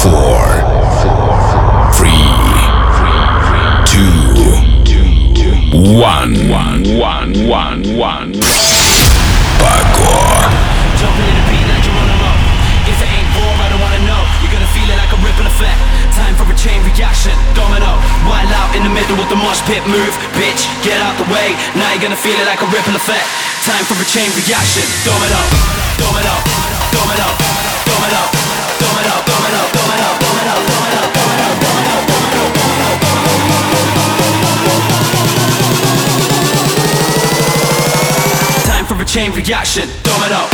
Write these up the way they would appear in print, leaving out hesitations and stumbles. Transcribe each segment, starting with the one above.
Chain reaction, domino, domino, domino, domino, domino, domino, domino, domino, domino, domino. Time for a chain reaction, domino.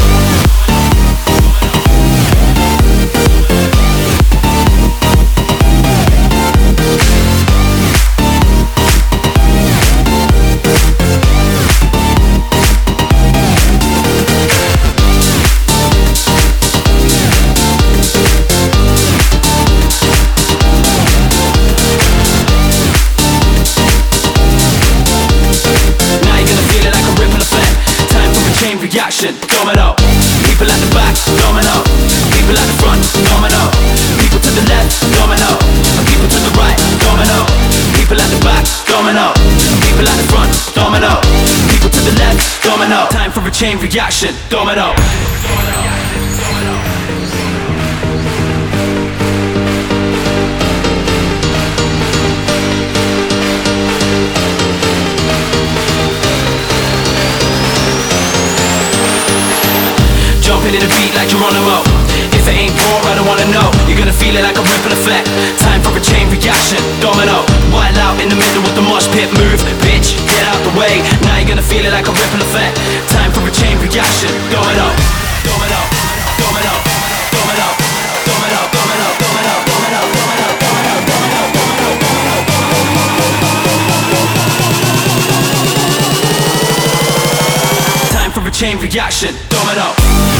Reaction, domino. People at the back, domino. People at the front, domino. People to the left, domino. People to the right, domino. People at the back, domino. People at the front, domino. People to the left, domino. Time for a chain reaction, domino. Jumping in the beat like Geronimo. If it ain't raw, I don't wanna know. You're gonna feel it like a ripple effect. Time for a chain reaction, domino. Wild out in the middle with the mosh pit move. Bitch, get out the way. Now you're gonna feel it like a ripple effect. Time for a chain reaction, domino. Domino, domino, domino, domino, domino, domino, domino, domino, domino, domino. Time for a chain reaction, domino.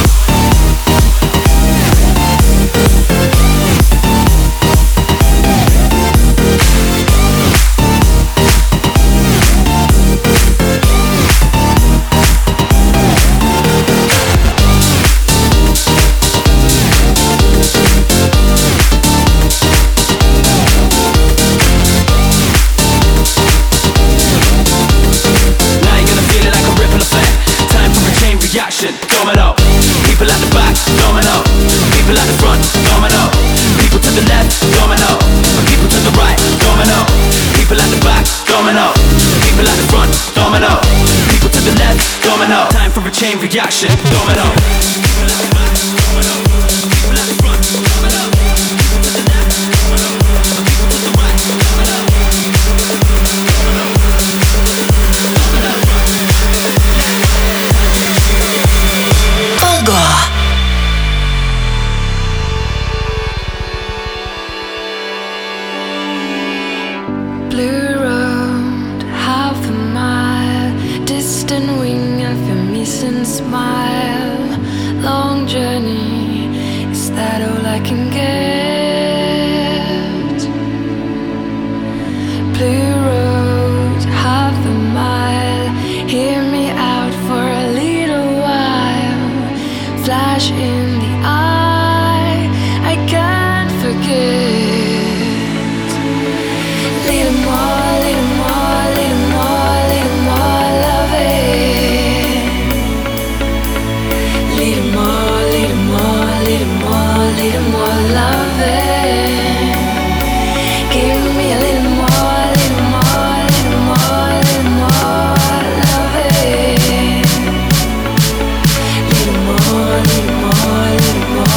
Domino. People at the back, domino. People at the front, domino. People to the left, domino. People to the right, domino. People at the back, domino. People at the front, domino. People to the left, domino. Time for a chain reaction, domino. People at the back, domino. People at the front, domino. People to the left, domino. People to the right, domino. Blue road, half a mile, distant wing of a missing smile. Long journey, is that all I can get? Blue road, half a mile, hear me out for a little while. Flash in the eye, I can't forget. Little more, little more, little more, little more loving. Little more, little more, little more, little more loving. Give me a little more, little more, little more, little more loving. Little more, little more, little more.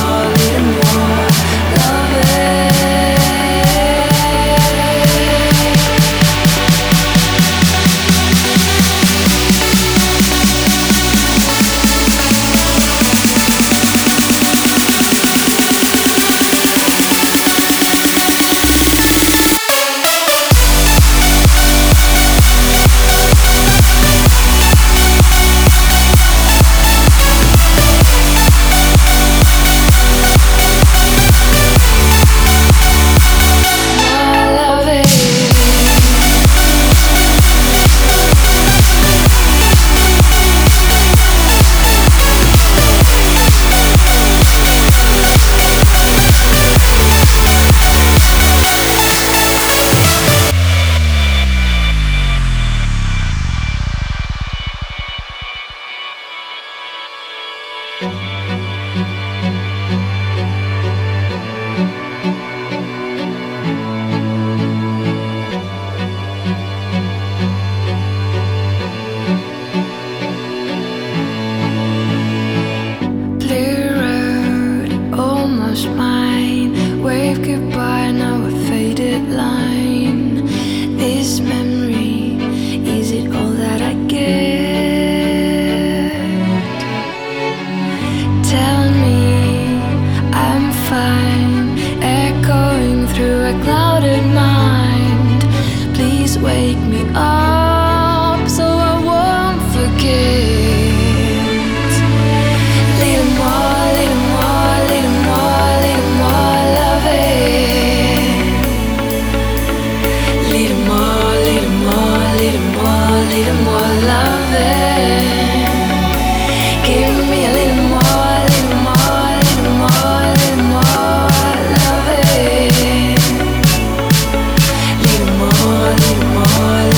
Blue road, almost mine. Wave goodbye, now a faded line. This memory, is it all that I get? Tell me I'm fine, echoing through a clouded mind. Please wake me up so I won't forget. Little more, little more, little more, little more loving. Little more, little more, little more, little more loving. Give me a little more, little more, little more, little more loving. Little more, little more,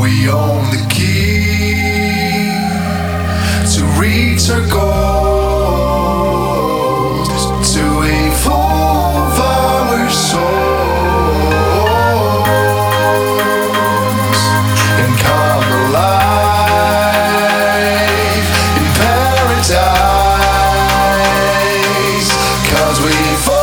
we own the key to reach our goals, to evolve our souls and come alive in paradise, 'cause we fall.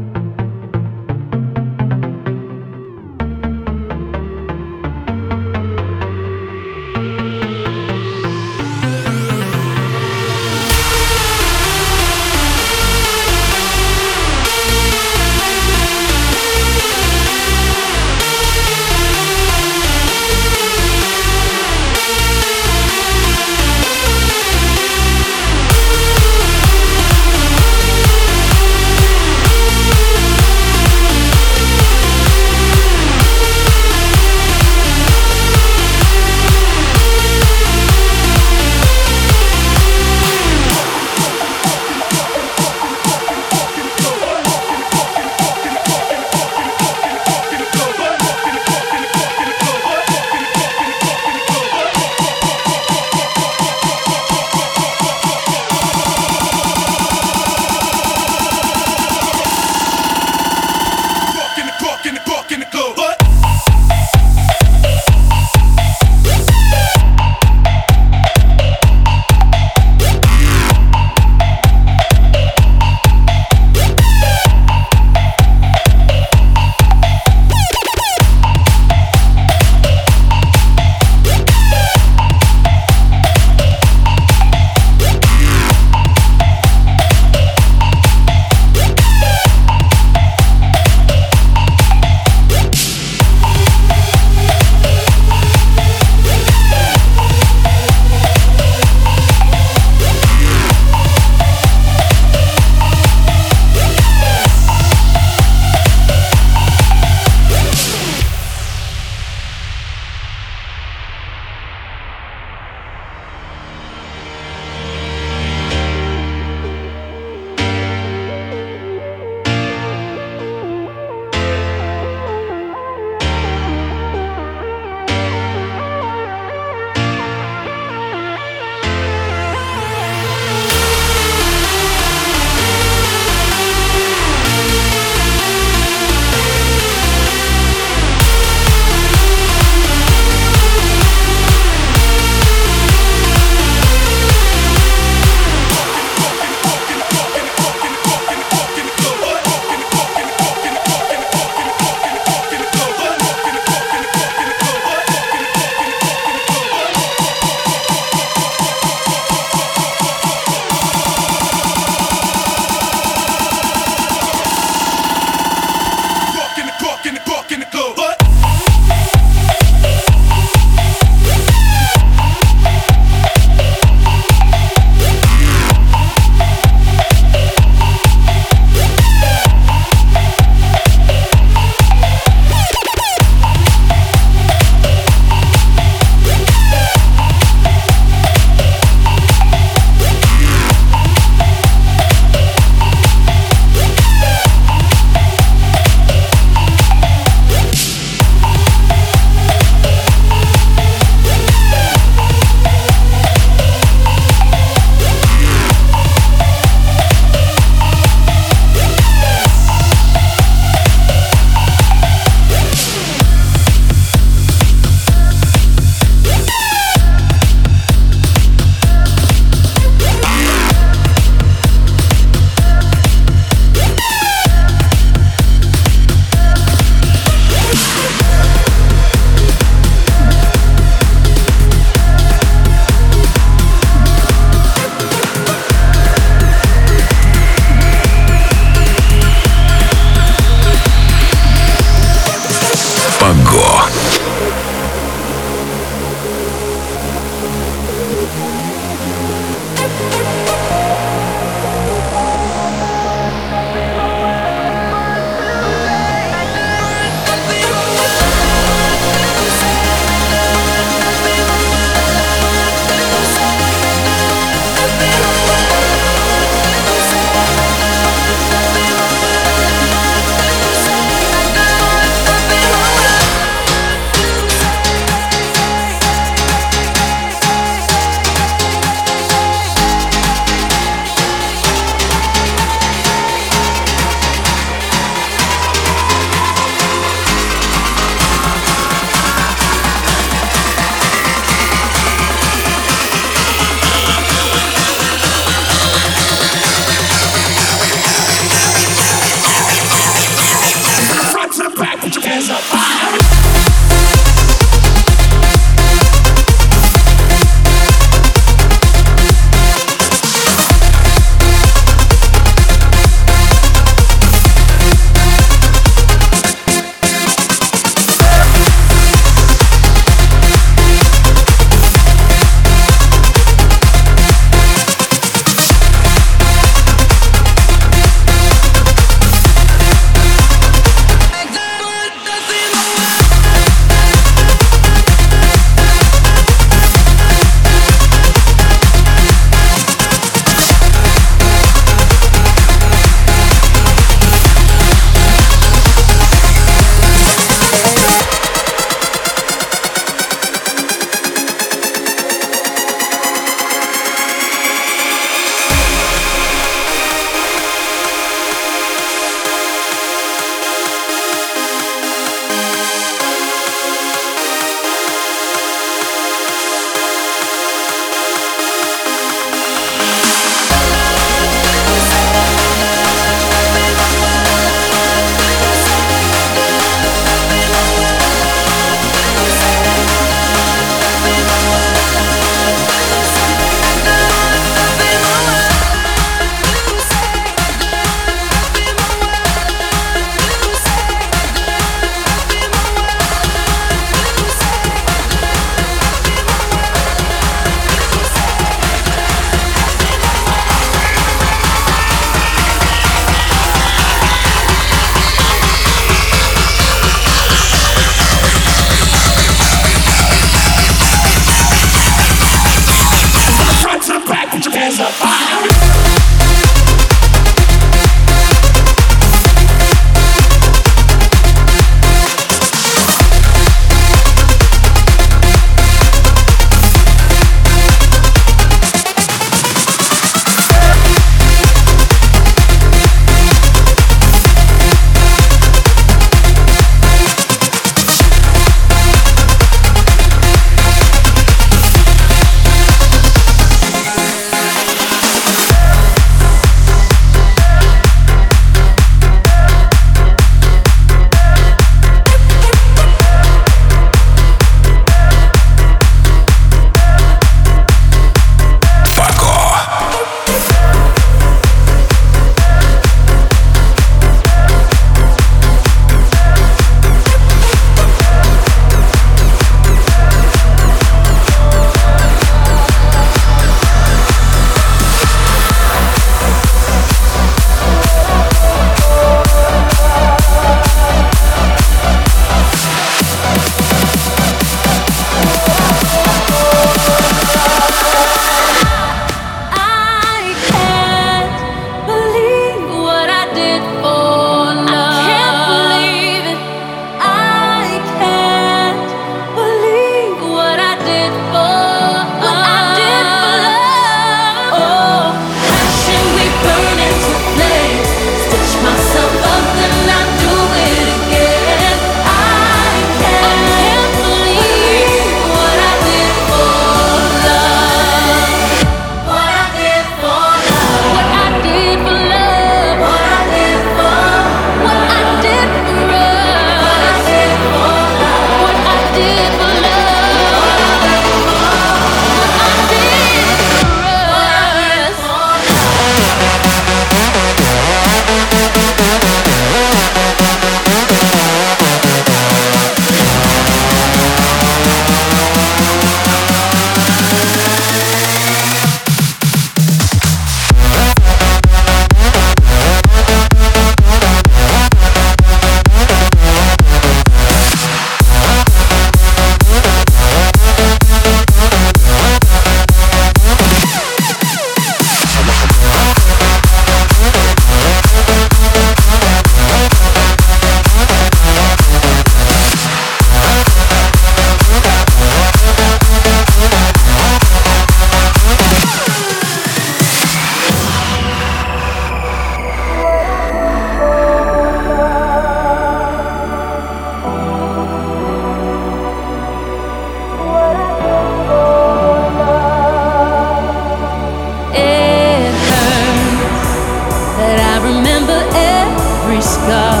every scar.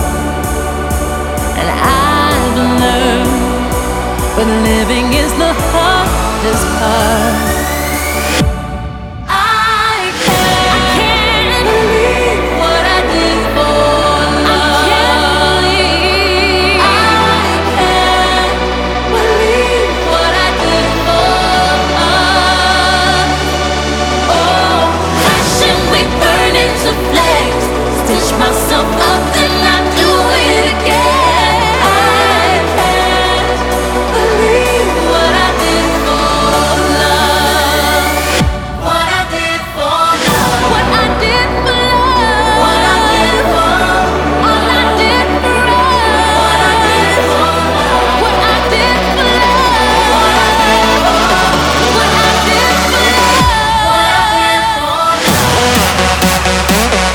And I've learned but living is the hardest part. Myself up and I do it again. I can't believe what I did for love. What I did for love. What I did for love. What I did for love. All I did for love. What I did for love. What I did for love. What I did for love. What I did for love. What I did for love.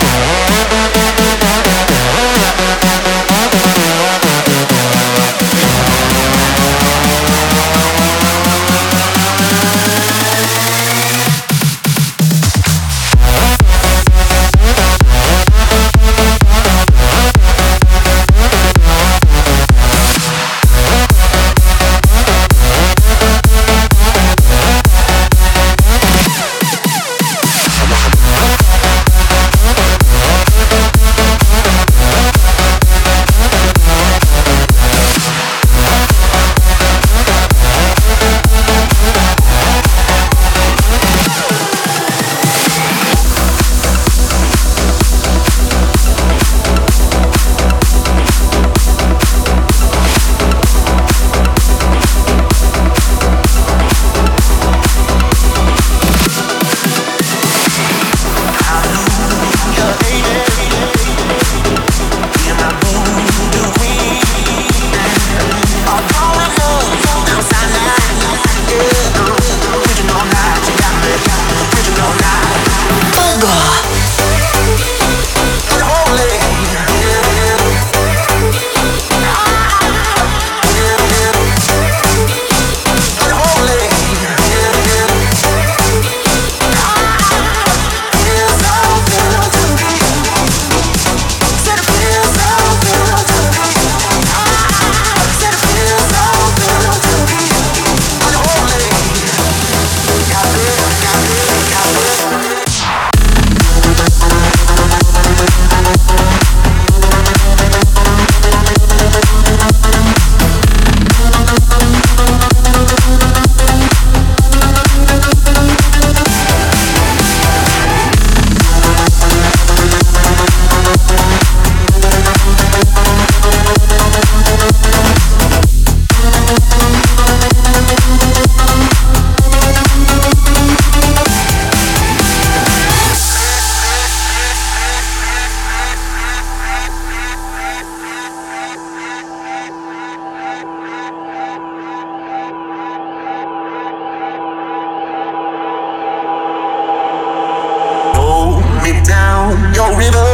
Your river,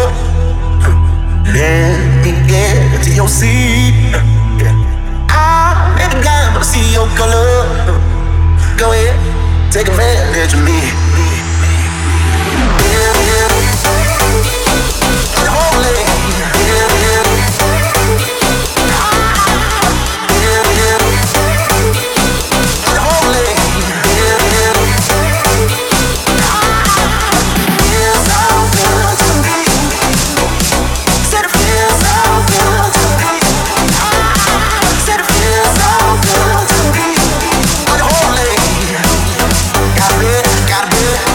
let me get to your sea. I'm never blind, but I see your color. Go ahead, take advantage of me. Gotta be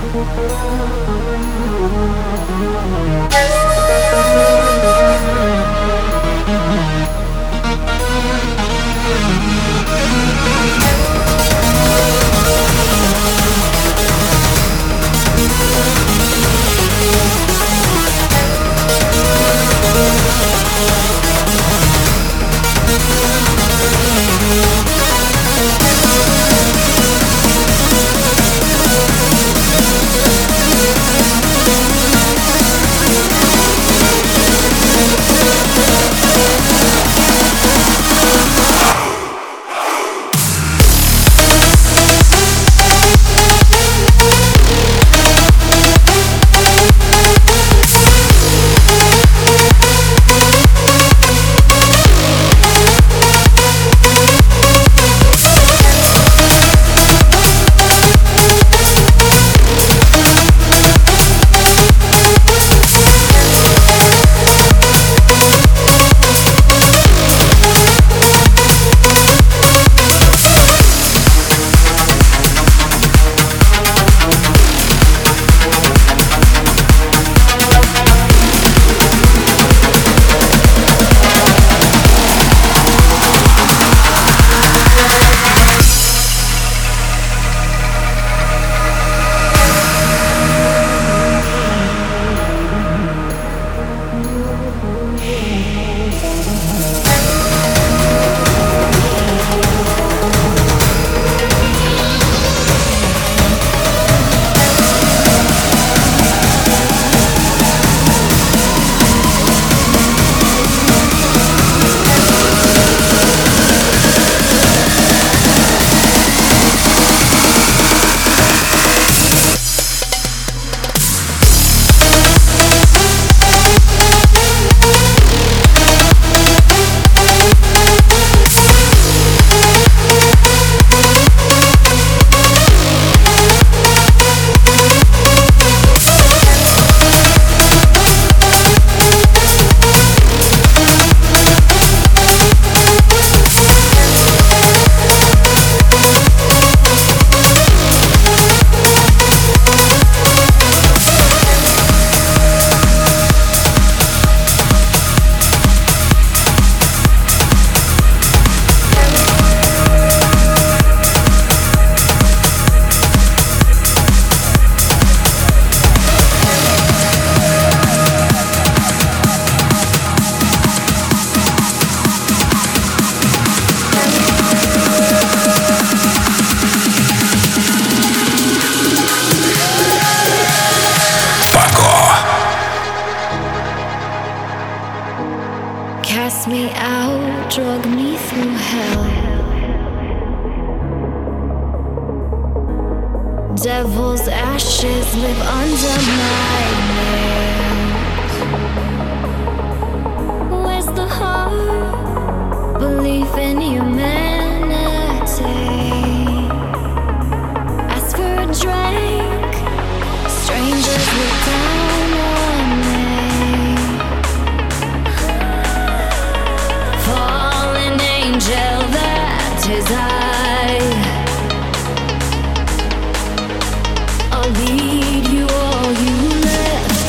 Devil's ashes live under my nails. Where's the heart? Belief in humanity. Ask for a drink. Strangers look down on me. Fallen angel, that is I. I'll lead you all you left.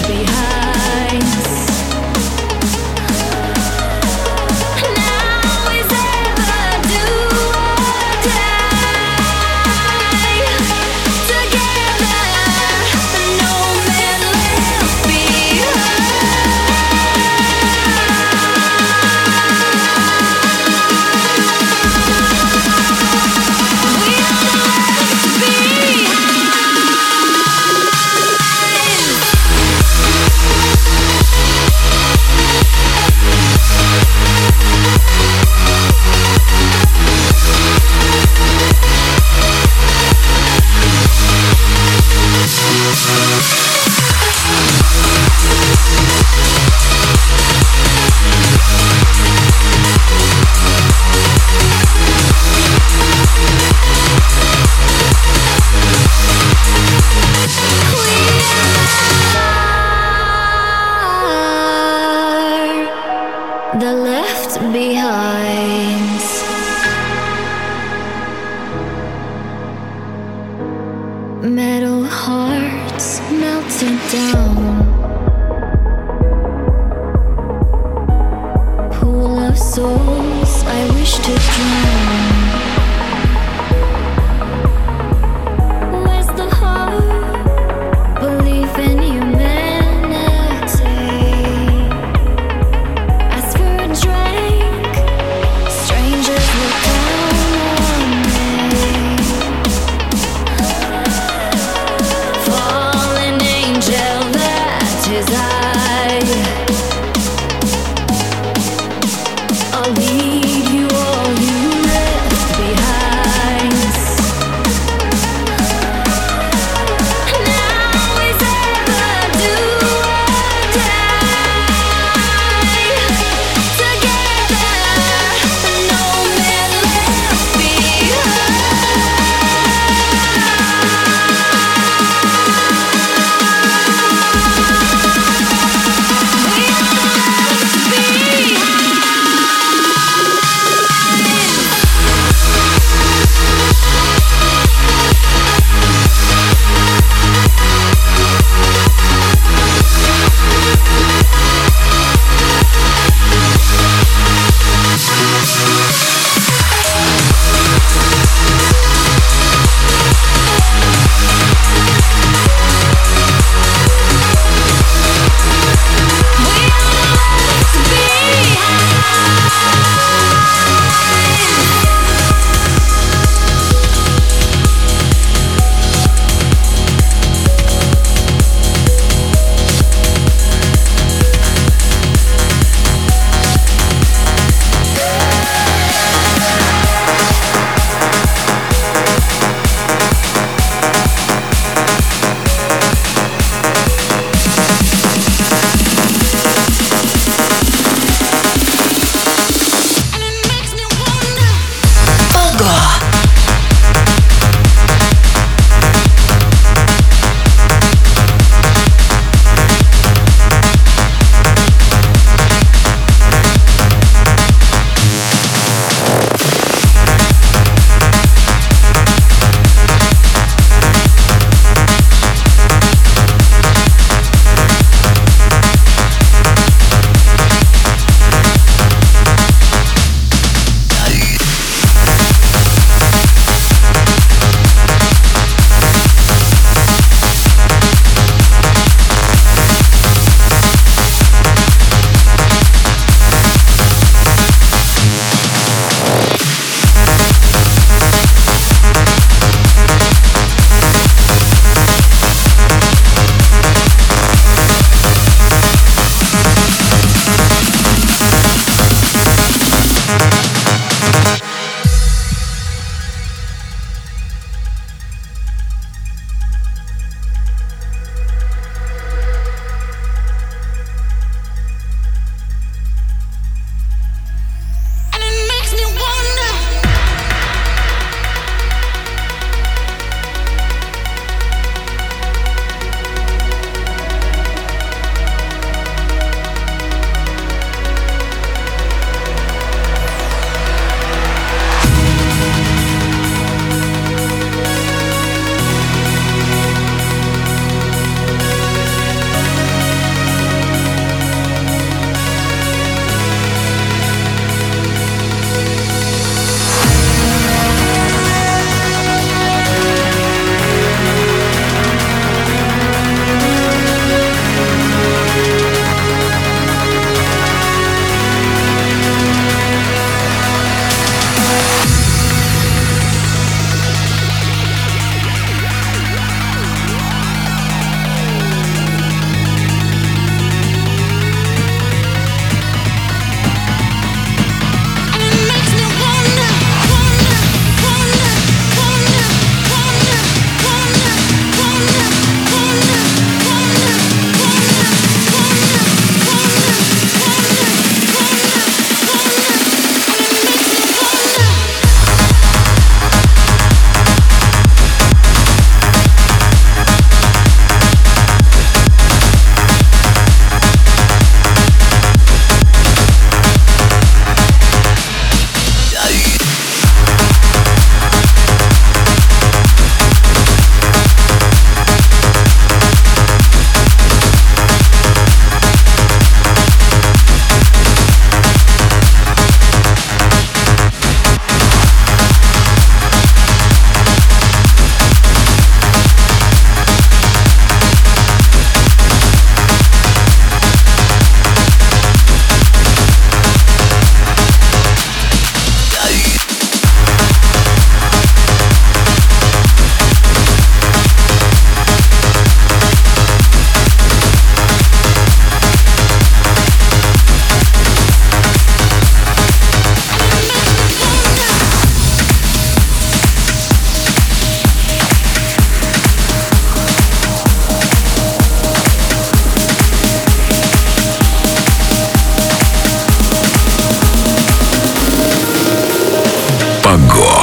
Марго.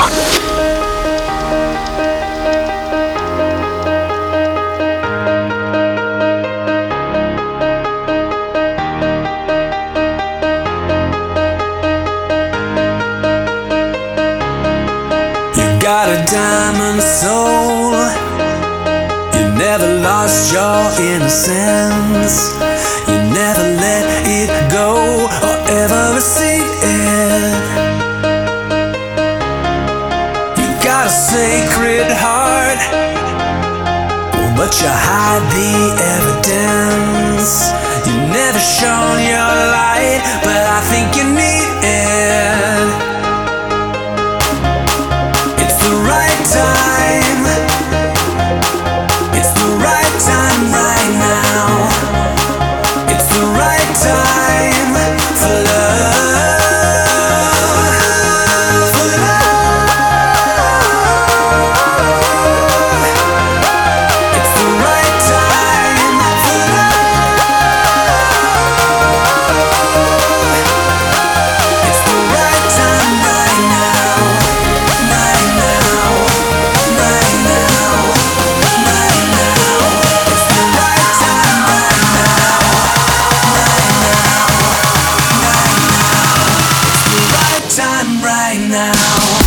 Got a diamond soul. You never lost your innocence. You never let it go or ever receive it. You got a sacred heart, but you hide the evidence. You never shone your light, but I think you need it. It's the right time right now. It's the right time for love. For love. It's the right time for love. It's the right time right now. Right now. Right now. Right now. It's the right time right now. Right now. Right now. It's the right time right now.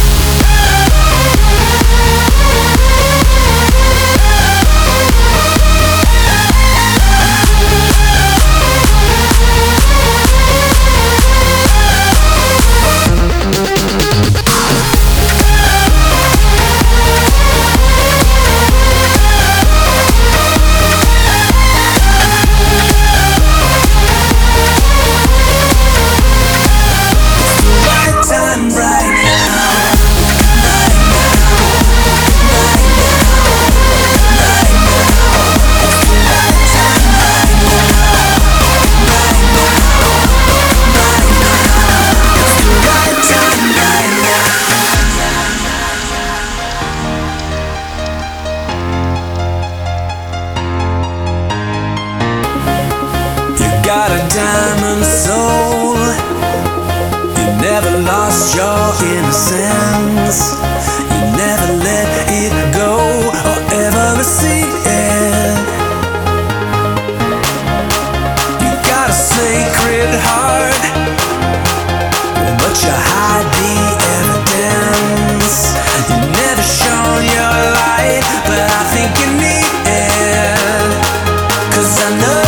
Got a diamond soul. You never lost your innocence. You never let it go or ever receive it. You got a sacred heart, but you hide the evidence. You never shone your light, but I think you need it. 'Cause I know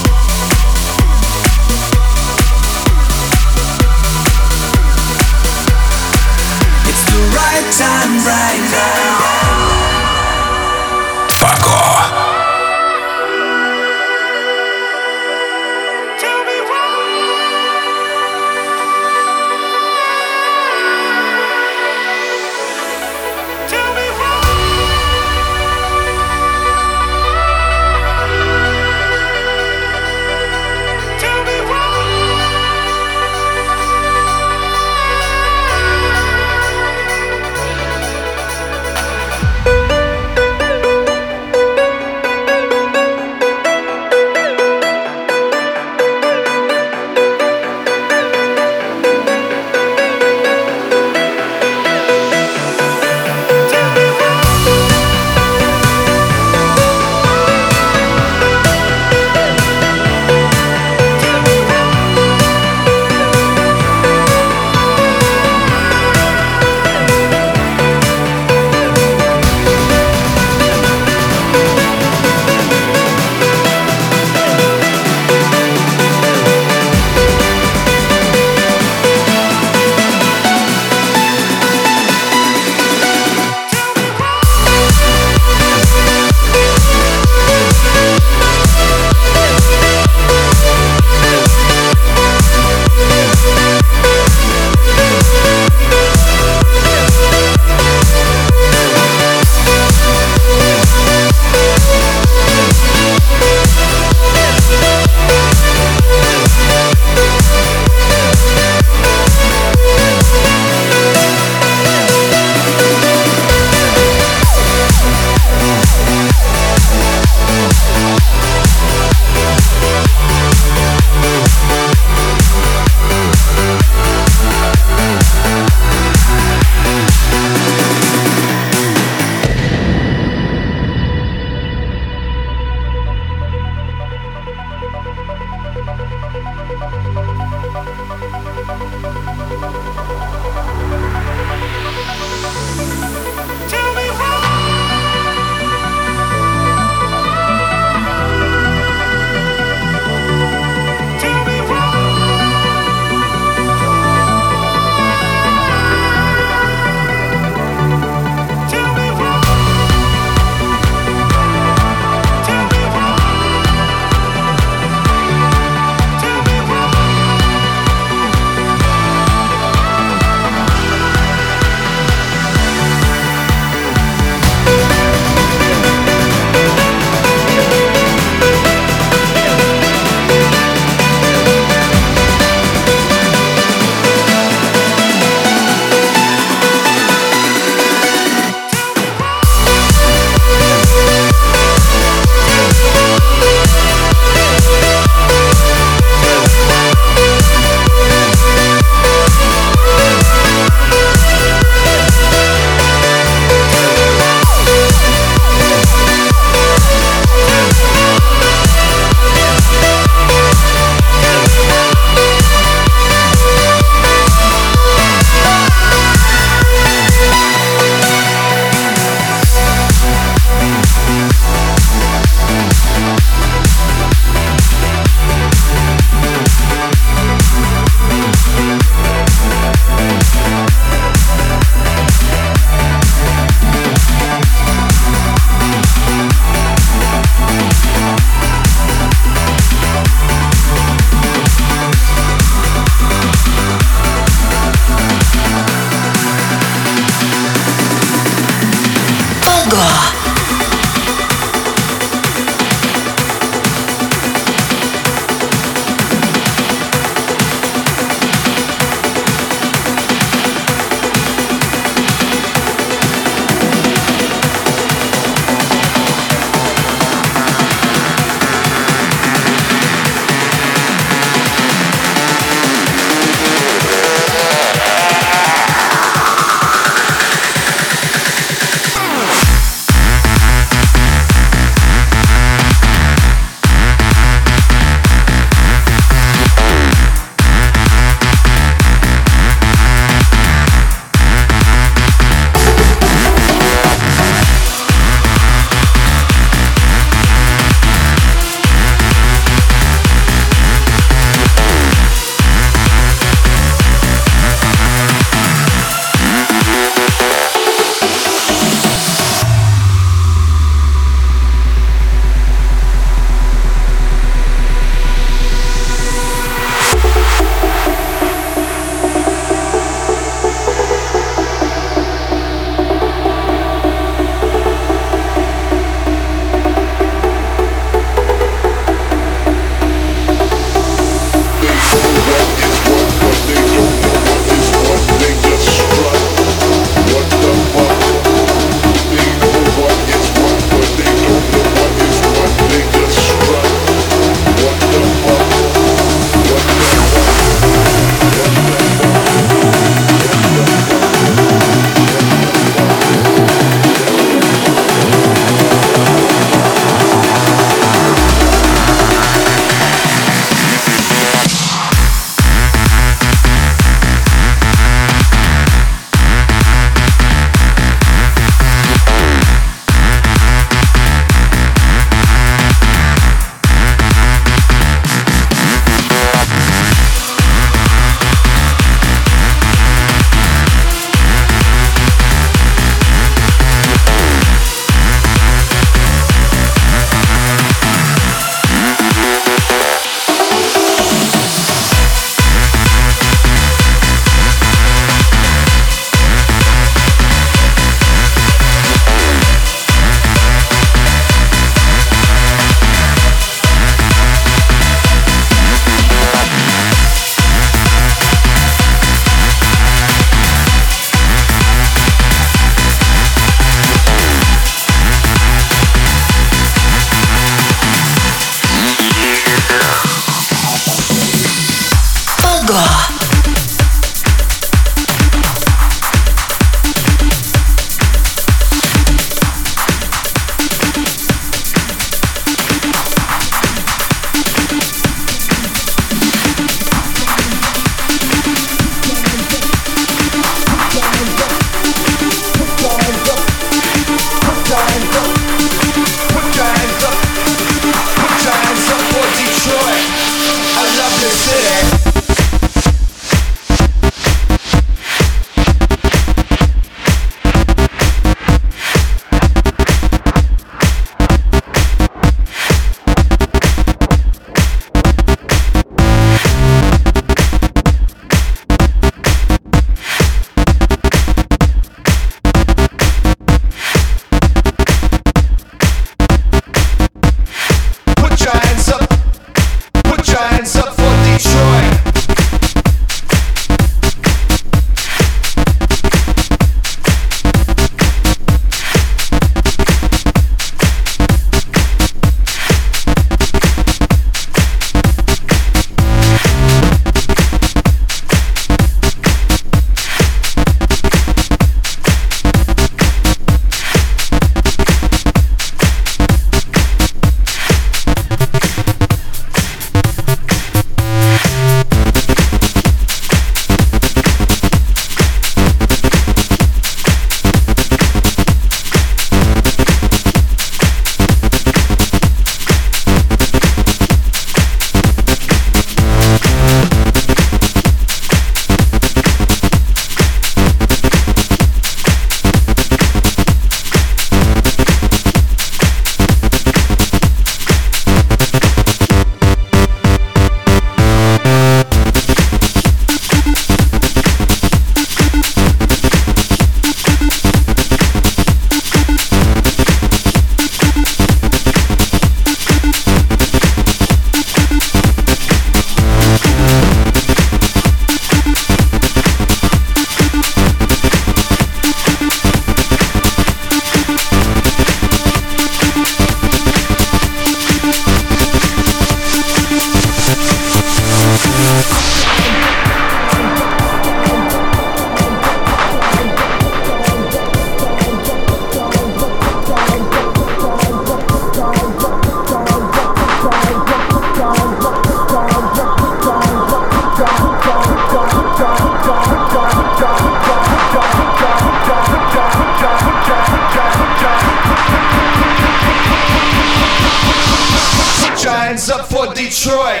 hands up for Detroit,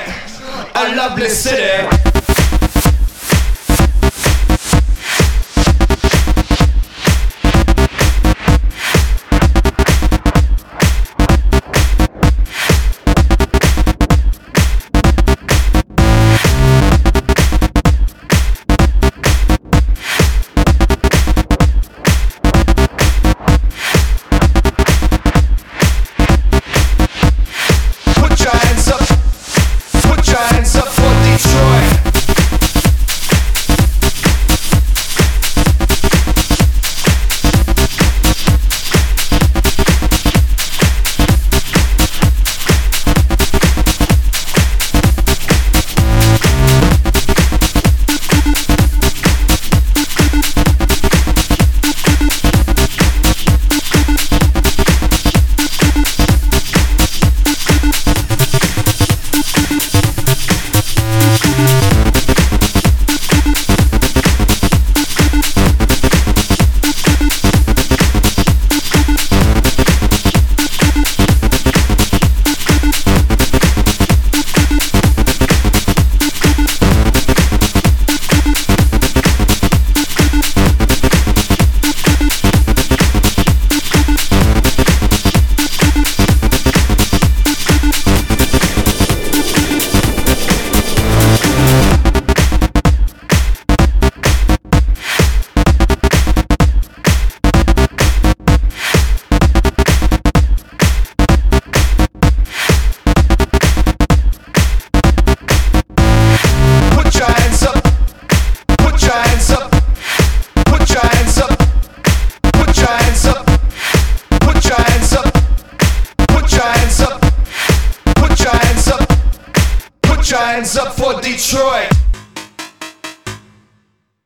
a lovely city. Hands up for Detroit.